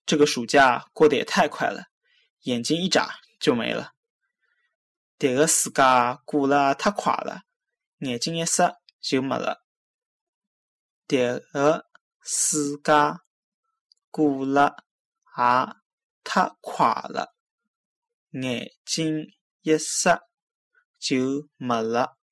这个暑假过得也太快了，眼睛一眨就没了。迭个暑假过了太快了，眼睛一眨就没了。迭个暑假过了也太快了，眼睛一眨就没了。